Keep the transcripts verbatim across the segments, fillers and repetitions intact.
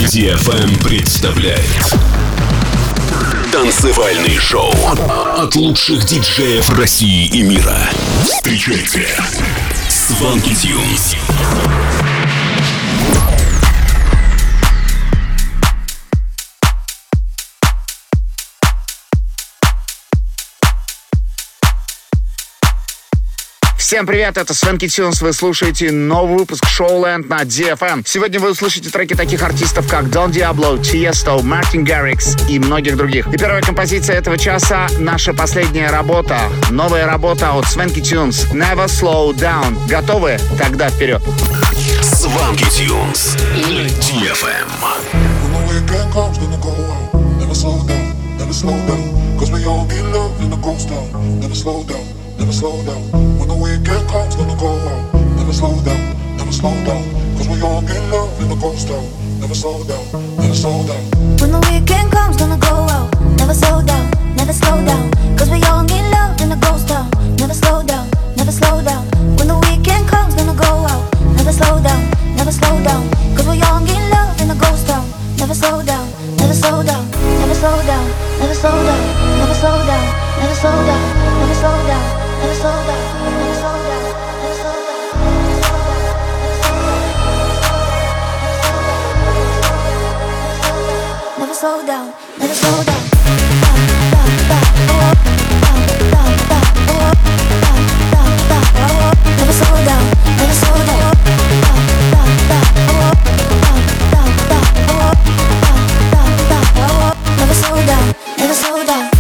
ди эф эм представляет танцевальный шоу от лучших диджеев России и мира. Встречайте Swanky Tunes. Всем привет, это Swanky Tunes, вы слушаете новый выпуск Showland на ди эф эм. Сегодня вы услышите треки таких артистов, как Don Diablo, Tiesto, Martin Garrix и многих других. И первая композиция этого часа — наша последняя работа, новая работа от Swanky Tunes, Never Slow Down. Готовы? Тогда вперед! Swanky Tunes на ди эф эм. Never slow down. When the weekend comes, gonna go out. Never slow down, never slow down. Cause we all get love in the ghost town. Never slow down, never slow down. When the weekend comes, gonna go out. Never slow down, never slow down. Cause we all need love in the ghost town. Never slow down, never slow down. When the weekend comes, gonna go out. Never slow down, never slow down. Cause we all need love in the ghost town. Never slow down, never slow down. Never slow down, never slow down. Never slow down, never slow down. Never slow down. Never slow down, never slow down, never slow down. Never slow down, never slow down. Never slow down, never slow down. Never slow down, never slow down.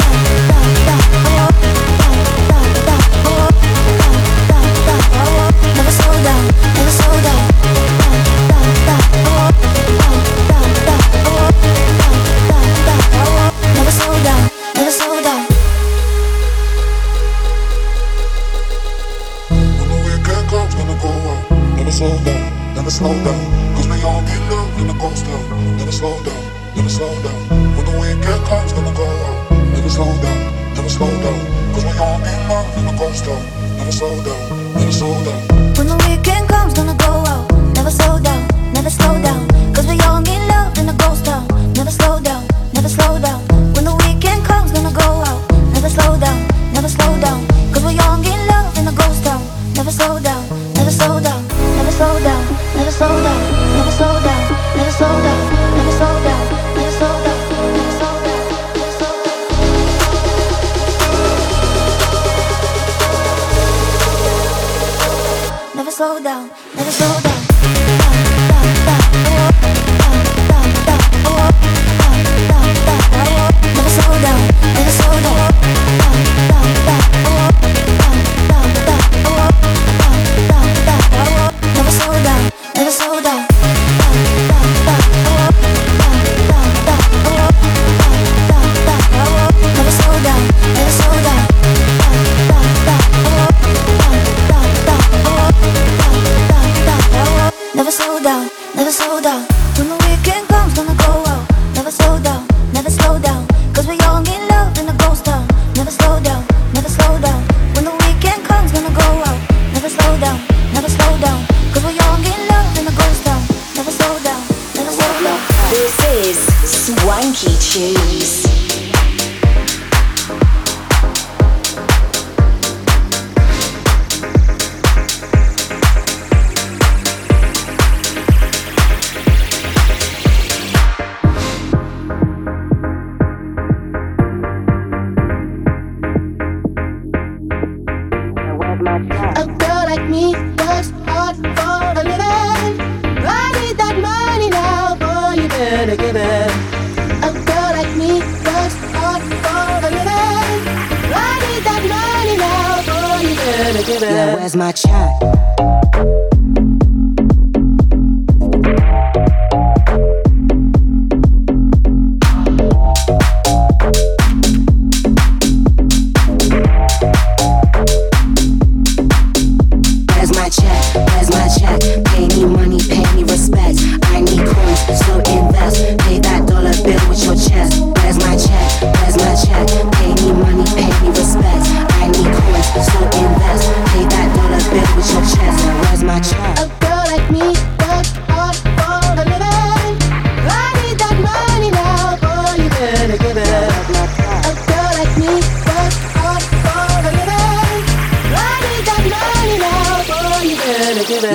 Never slow down, cause we all get love in the ghost town. Never slow down, never slow down. When the weekend comes, gonna go out. Never slow down, never slow down. Cause we all get love in the ghost town. Never slow down, never slow down. When the weekend comes, gonna go out. Never slow down, never slow down. Cause we all need love in the ghost town. Never slow down, never slow down. When the weekend comes, gonna go out. Never slow down, never slow down. Cause we all need love in the ghost town. Never slow down, never slow down. Never slow down, never slow down, never slow down, never slow down, never slow down, never slow down, never slow down, never slow down. Never slow down, never slow down. Never slow down, never slow down. Never slow down, never slow down. Never slow down, never slow down. Never slow down, never slow down. When the weekend comes, gonna go out. Never slow down, never slow down. Cause we all need love in the ghost town. Never slow down, never slow down. When the weekend comes, gonna go out. Never slow down, never slow down. Cause we all need love in the ghost town. Never slow down, never slow down. This is Swanky Tunes. A girl like me works hard for a living. I need that money now, boy, you better give it. A girl like me works hard for a living. I need that money now, boy, you better give it. Yeah, where's my check? Pay me respect. I need coins, so invest. Pay that dollar bill with your chest.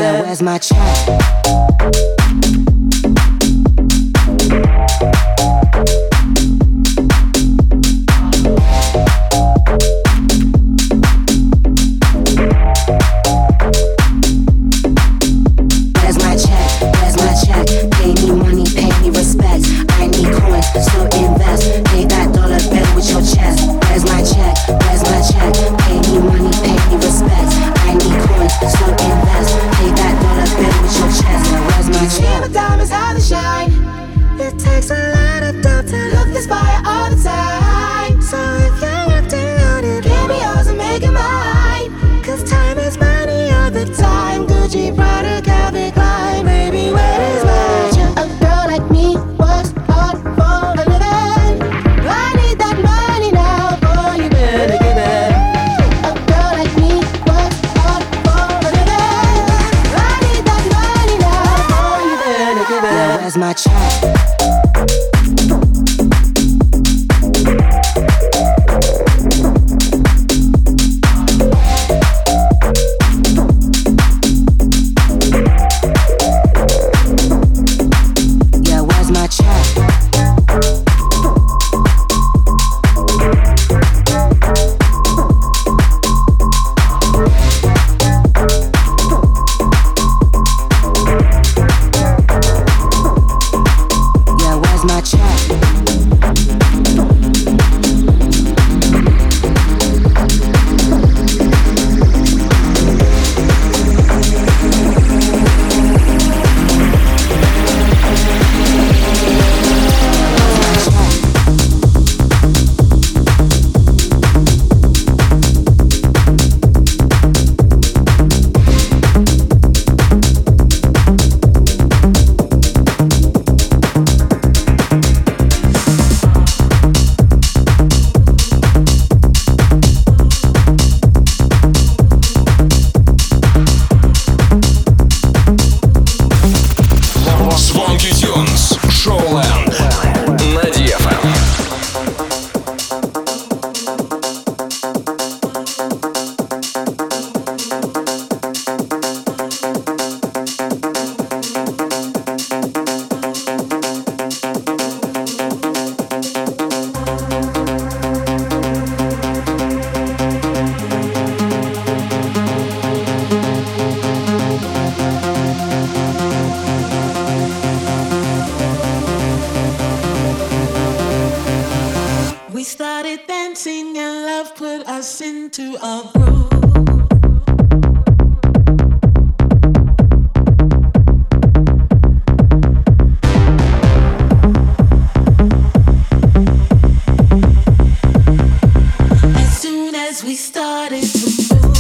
Now where's my check? My check. into a groove. As soon as we started to move,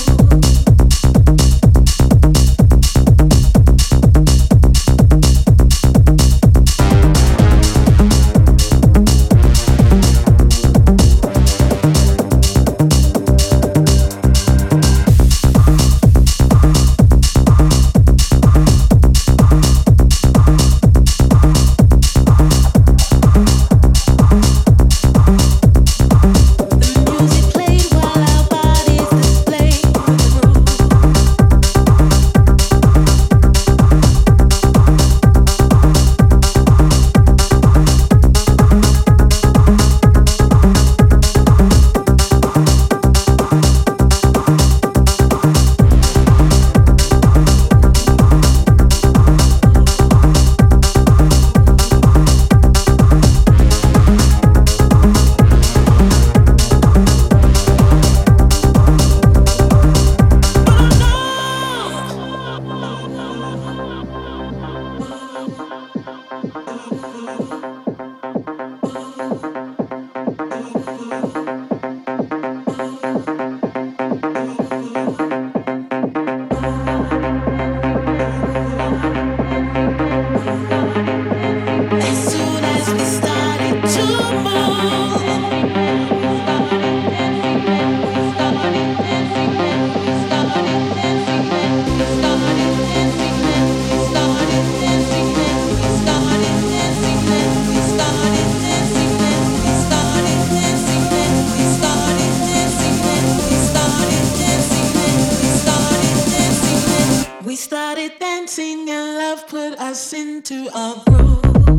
dancing and love put us into a groove.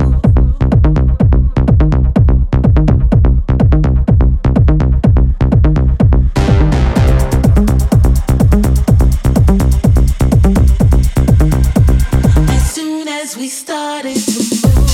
As soon as we started to move.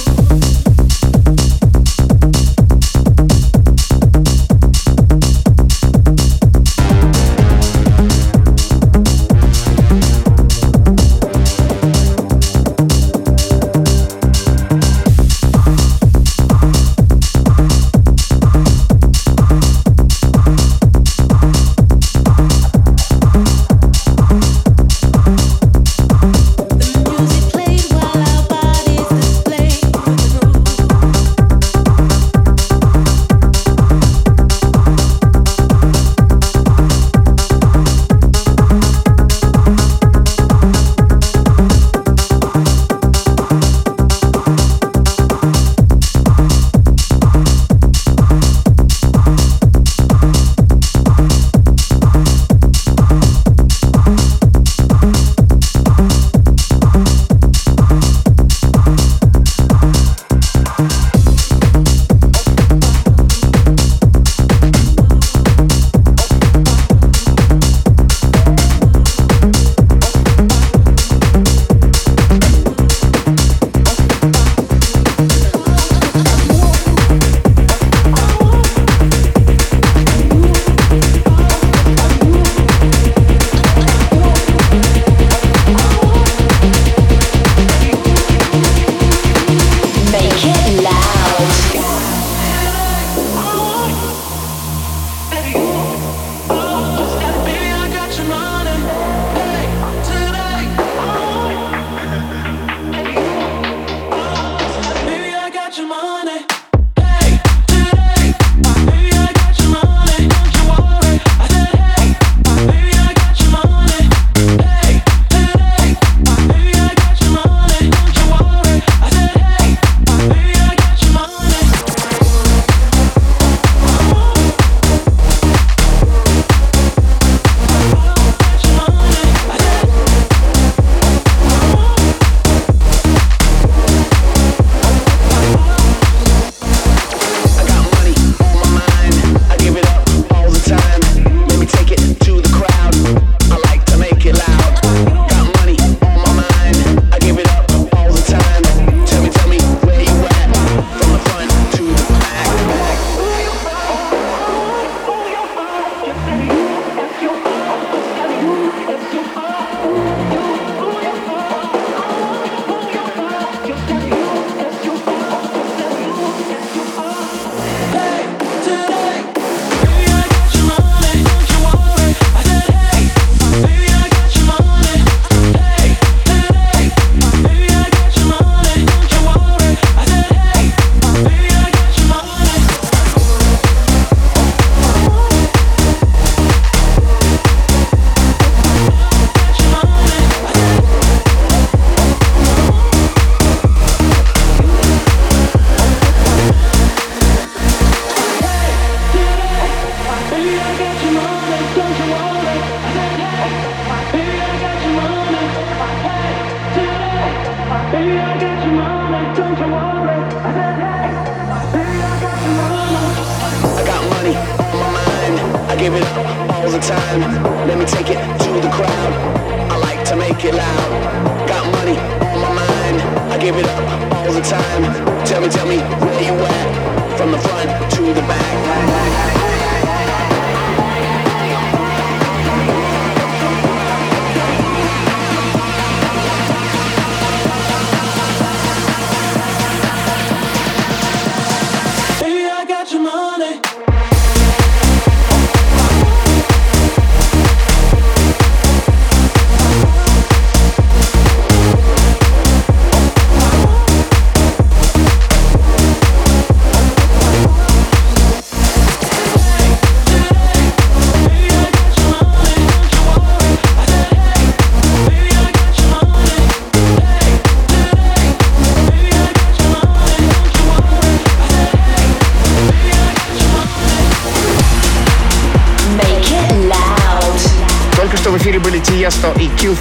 give it up all the time. Let me take it to the crowd. I like to make it loud. Got money on my mind. I give it up all the time. Tell me, tell me where you at. From the front to the back.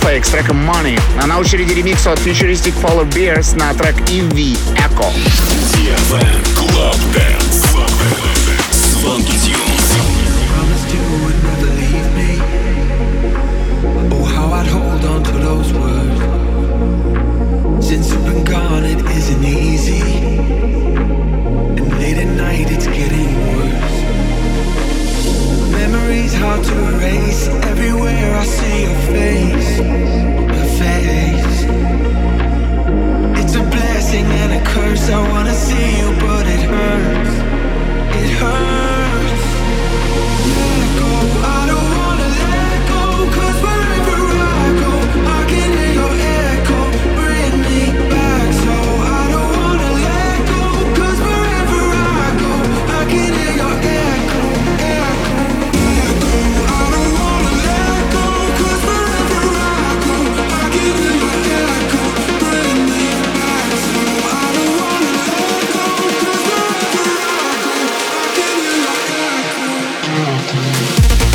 Snowflake с треком Money. А на очереди ремикс от Futuristic Polar Bears на трек и ви Echo. ди эф эм Club Dance. Swanky Tunes. Promised you would never leave me. Oh, how I'd hold on to those words. Since you've been gone, it isn't easy. And late at night, it's getting worse. Memories hard to erase. Everywhere I see your face, your face. It's a blessing and a curse. I wanna see you, but it hurts. It hurts. Let go. I don't wanna let go. 'Cause wherever I go, I can hear your echo. Bring me back. So I don't wanna let go. 'Cause wherever I go, I can hear your echo. Echo. Echo. I don't wanna let go. 'Cause wherever I go, I can hear your echo. Bring me back. So I don't wanna let go. 'Cause wherever I go, I can hear your echo.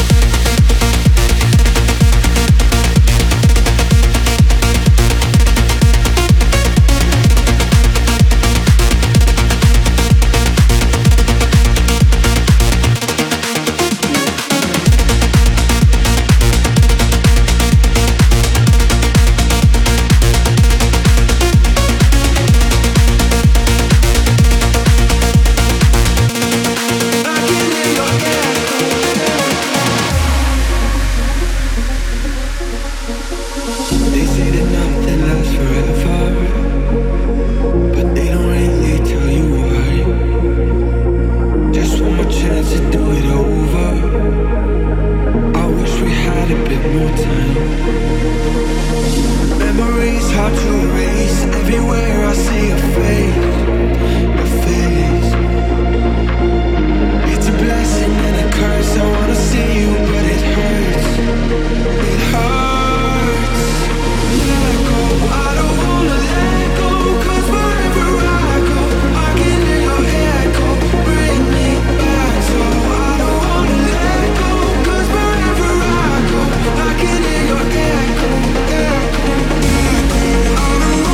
They say that nothing lasts forever, but they don't really tell you why. Just one more chance to do it over. I wish we had a bit more time. Memories hard to erase. Everywhere I see your face, your face. It's a blessing and a curse. I wanna see you, but it hurts. It hurts. Let go. I don't wanna let go. 'Cause wherever I go, I can hear your echo. Bring me back. So I don't wanna let go. 'Cause wherever I go, I can hear your echo. Echo. Echo. I don't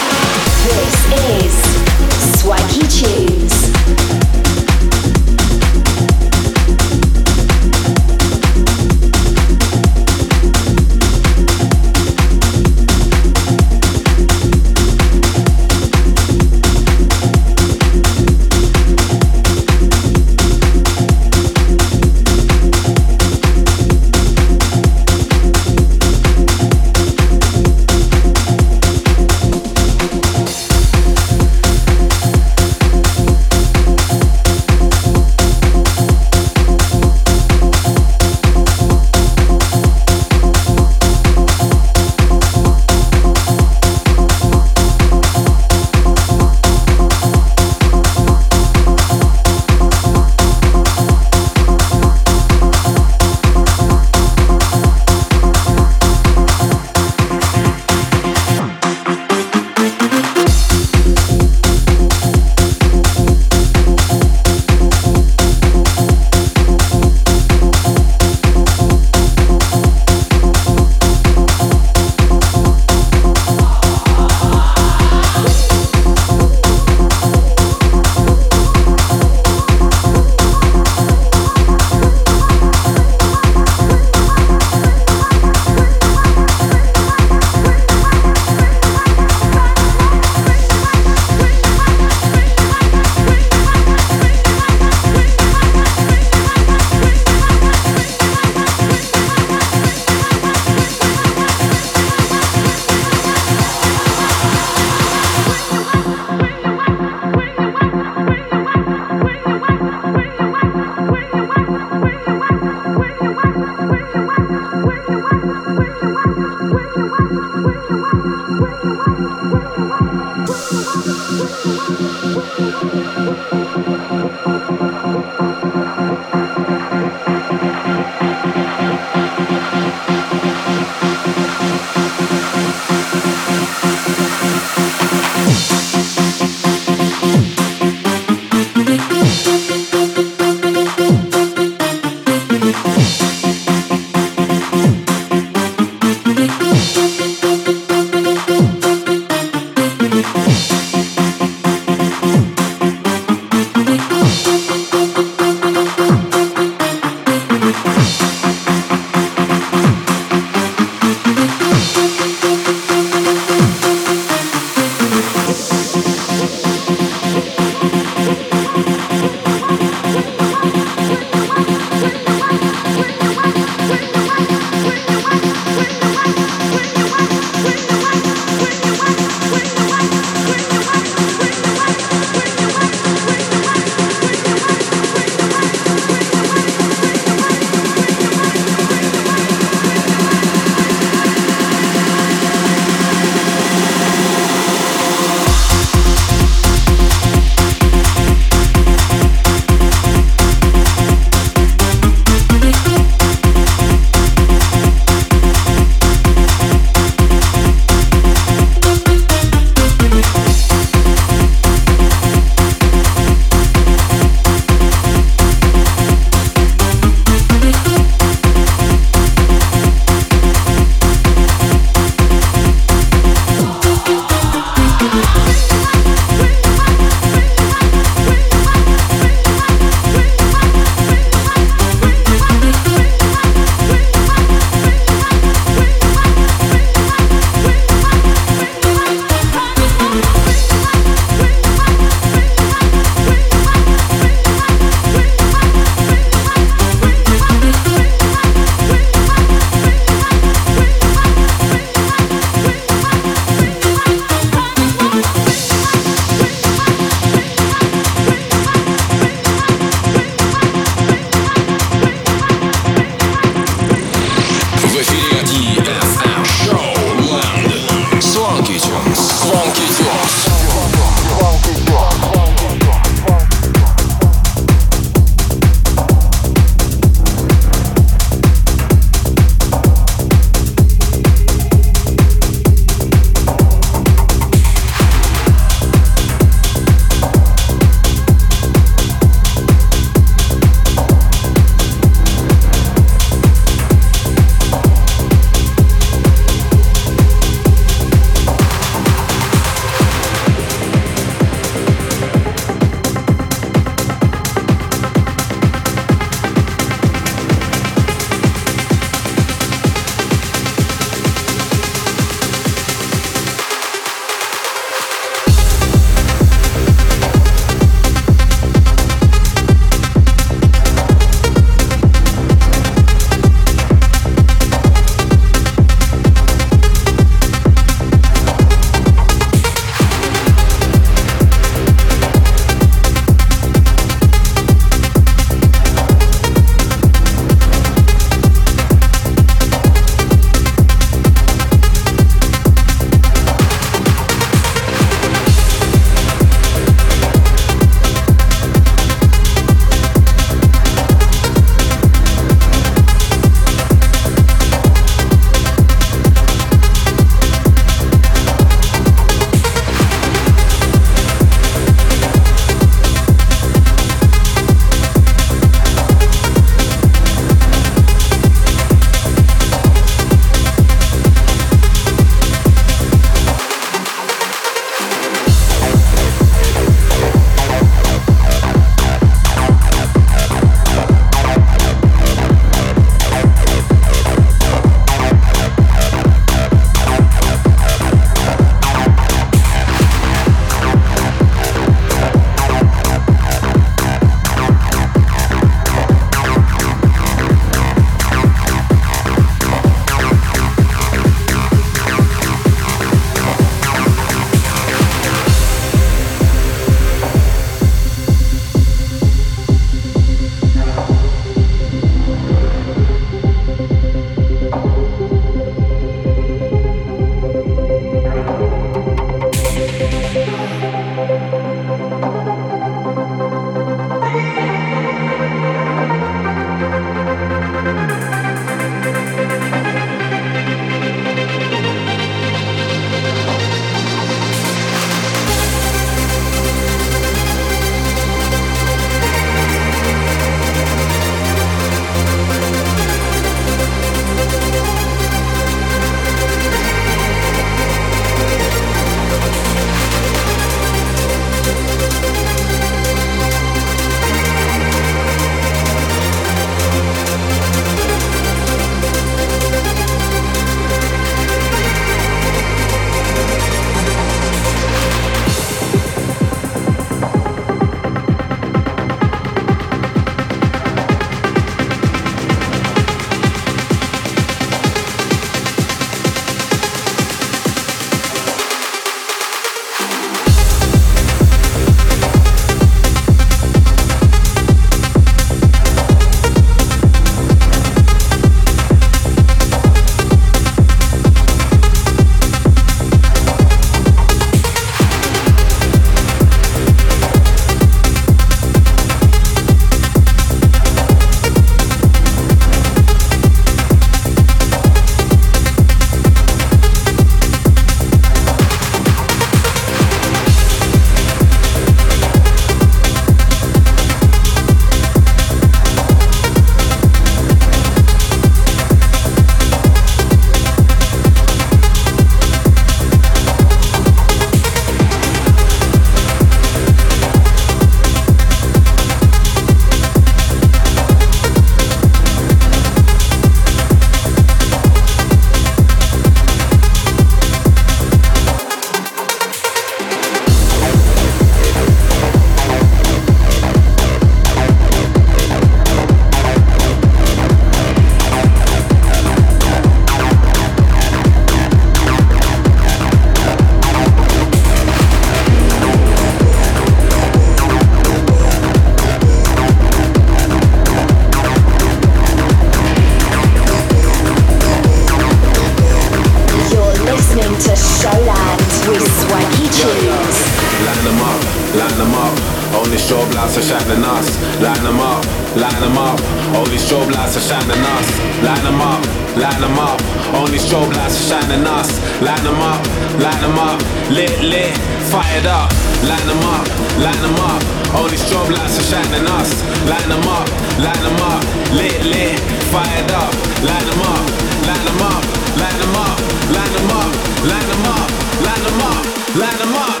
them up. Only strobe lights are shining us. Line them up, line them up. Only strobe lights are shining us. Line them up, line them up. Only strobe lights are shining us. Line them up, line them up. Lit, lit, fired up. Line them up, line them up. Only strobe lights are shining us. Line them up, line them up. Lit, lit, fired up. Line them up, line them up, line them up, line them up, line them up, line them up, line them up.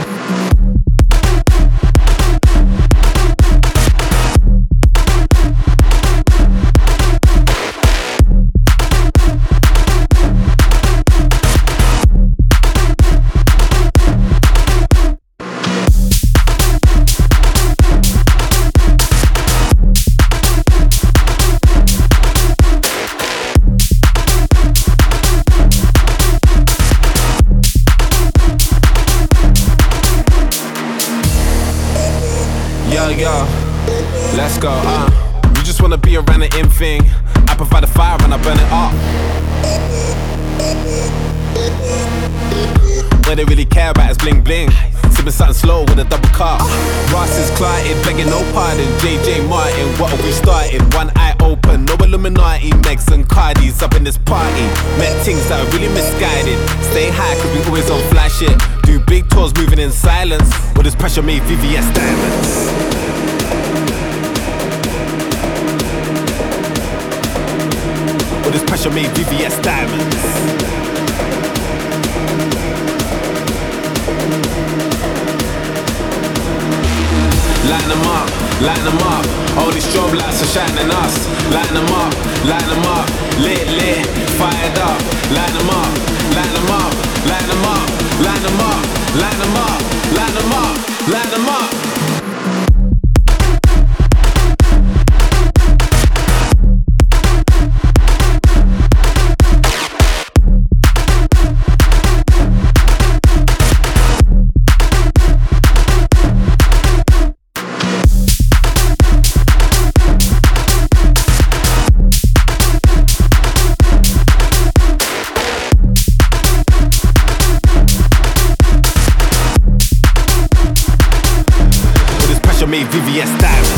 Yo, let's go, uh you just wanna be around the in thing. I provide the fire and I burn it up. What they really care about is bling bling. Sipping something slow with a double cup. Ross is clotted, begging no pardon. J J Martin, what are we starting? One eye open, no Illuminati. Megs and Cardis up in this party. Met things that are really misguided. Stay high cause we always on fly shit. Do big tours moving in silence. All this pressure made V V S diamonds. All this pressure made V V S diamonds. Line them up, line them up. All these strobe lights are shining us. Line them up, line them up. Lit, lit, fired up. Line them up, line them up, line them up, line them up, line them up, line them up, line them up. Made V V S diamonds.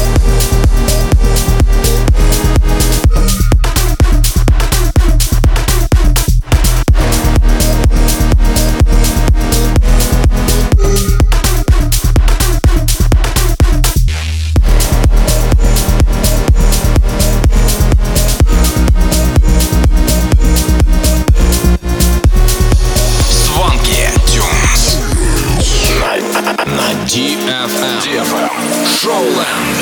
ди эф эм. ди эф эм. Showland.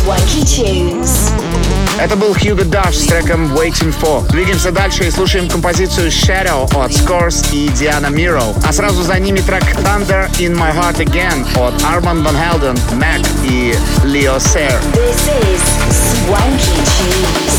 Swanky Tunes. Это был Hugo Dash с треком Waiting For. Двигаемся дальше и слушаем композицию Shadow от Scores и Diana Miro. А сразу за ними трек Thunder In My Heart Again от Armand Van Helden, Mac и Leo Sayer. This is Swanky Tunes.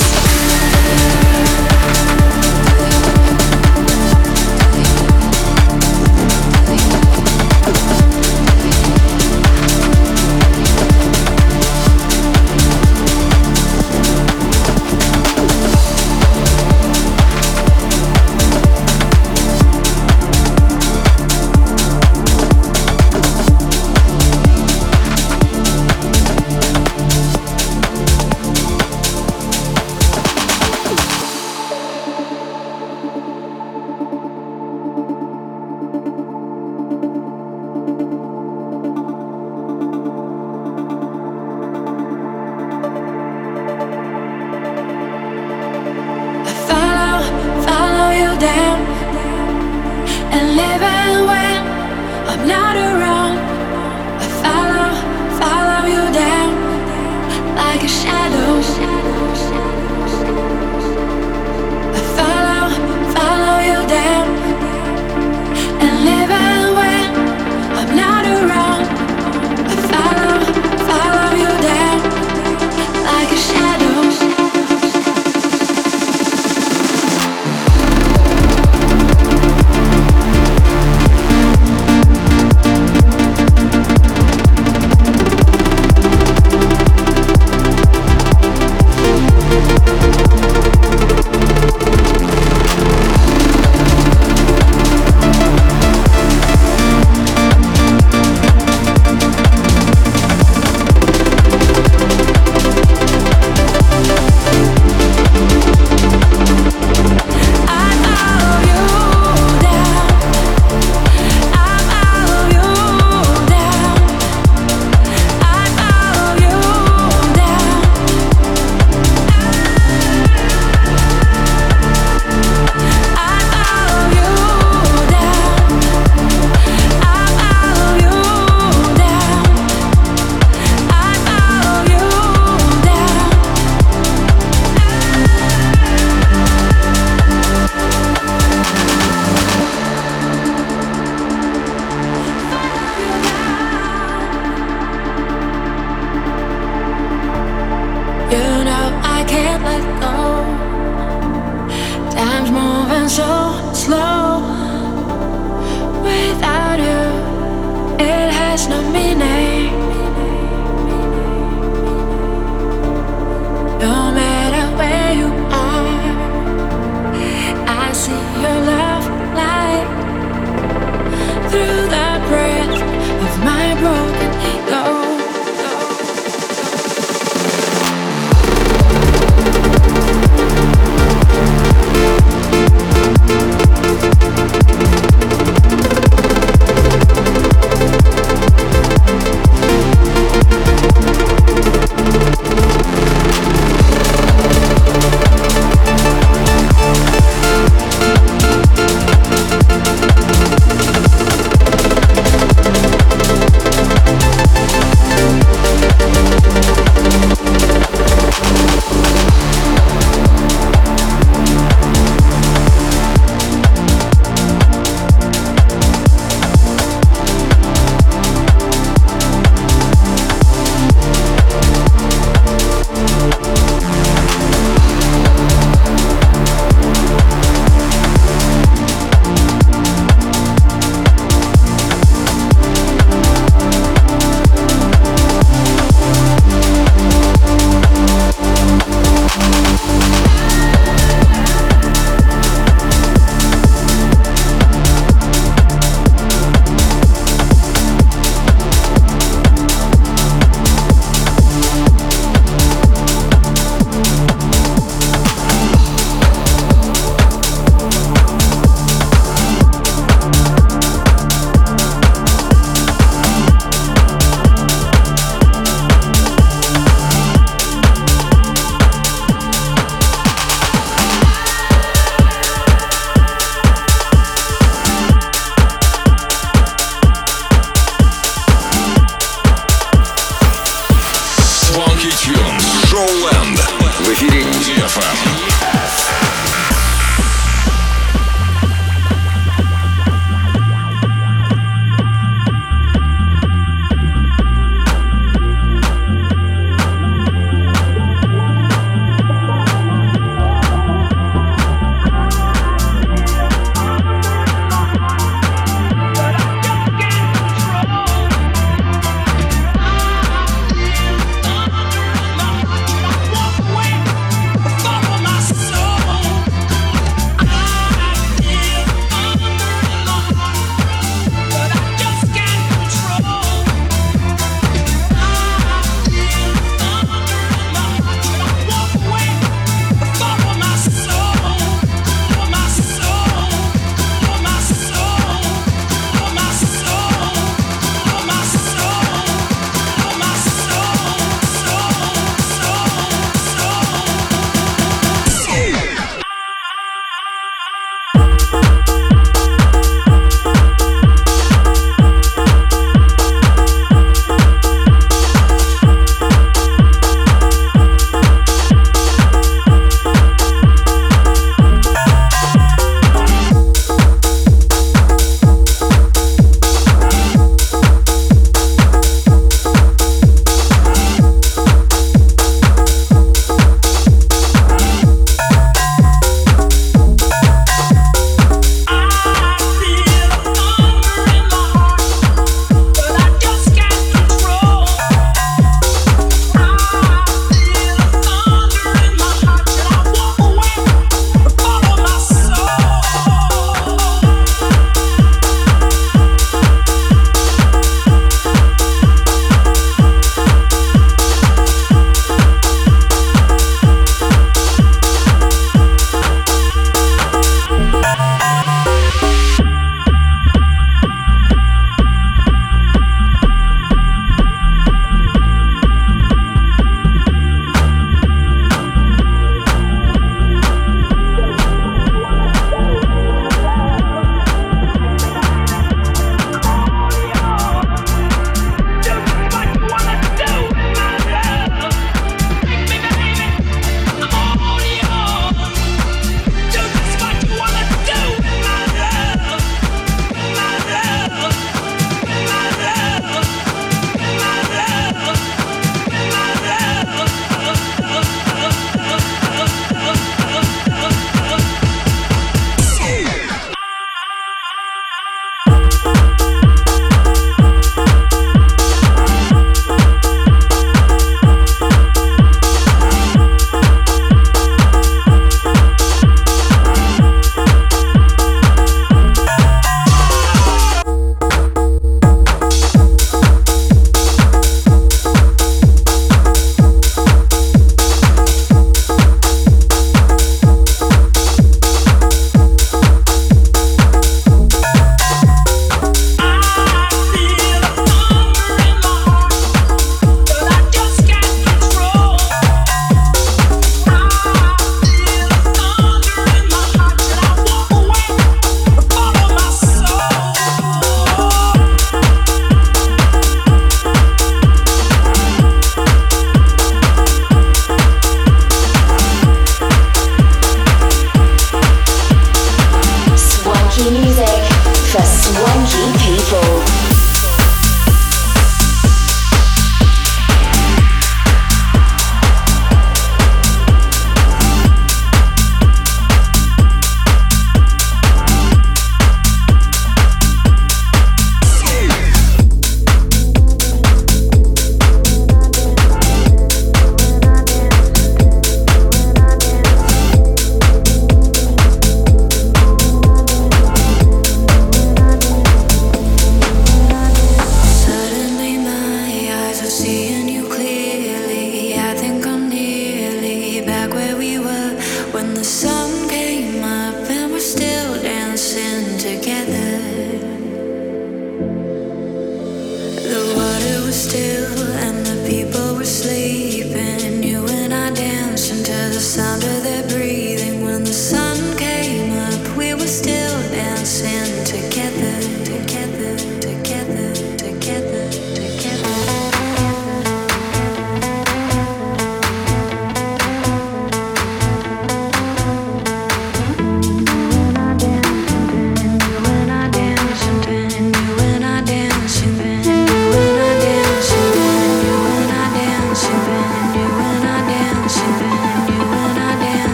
iTunes. Showland. В эфире ди эф эм.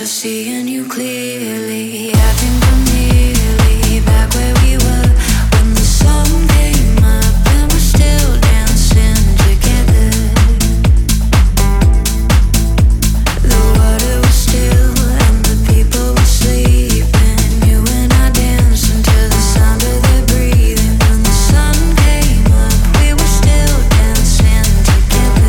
seeing you clearly. I think I'm nearly back where we were when the sun came up and we're still dancing together. The water was still and the people were sleeping. You and I danced until the sound of their breathing. When the sun came up, we were still dancing together.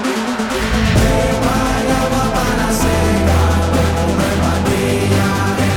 Yeah.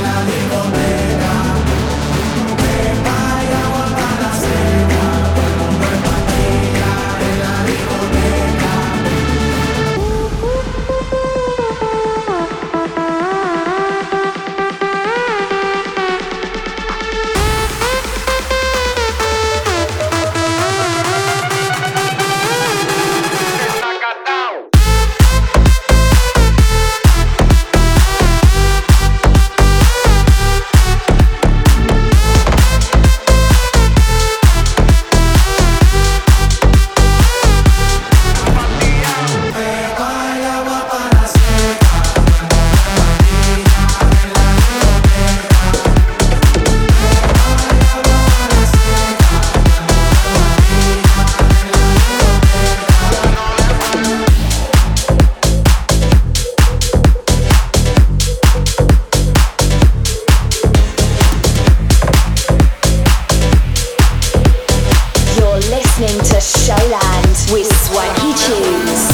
Swanky Tunes.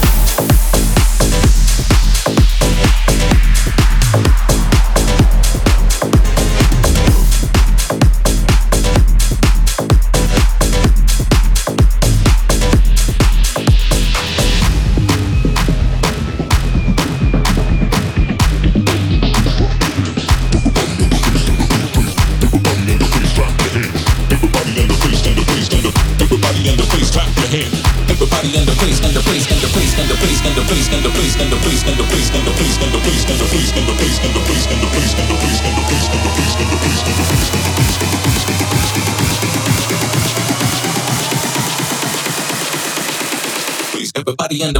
Everybody in the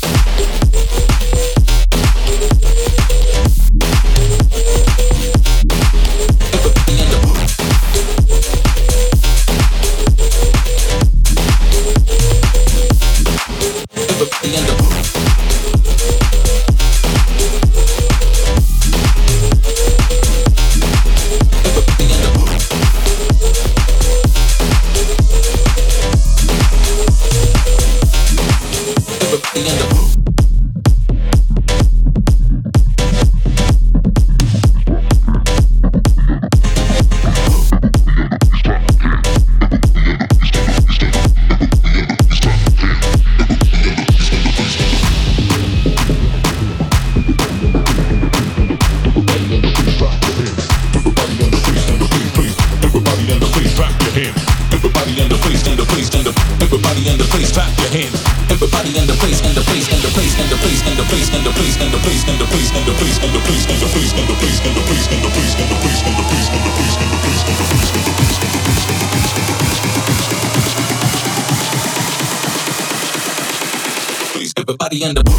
everybody in the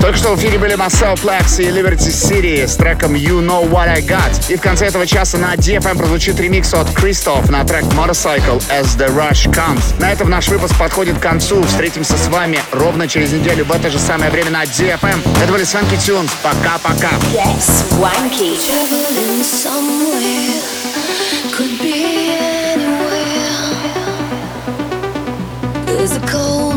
Только что в эфире были Marcel Plex и Liberty City с треком You Know What I Got. И в конце этого часа на ди эф эм прозвучит ремикс от Christoph на трек Motorcycle As The Rush Comes. На этом наш выпуск подходит к концу. Встретимся с вами ровно через неделю в это же самое время на ди эф эм. Это были Swanky Tunes. Пока-пока. Get swanky. Traveling somewhere, could be anywhere. There's a cold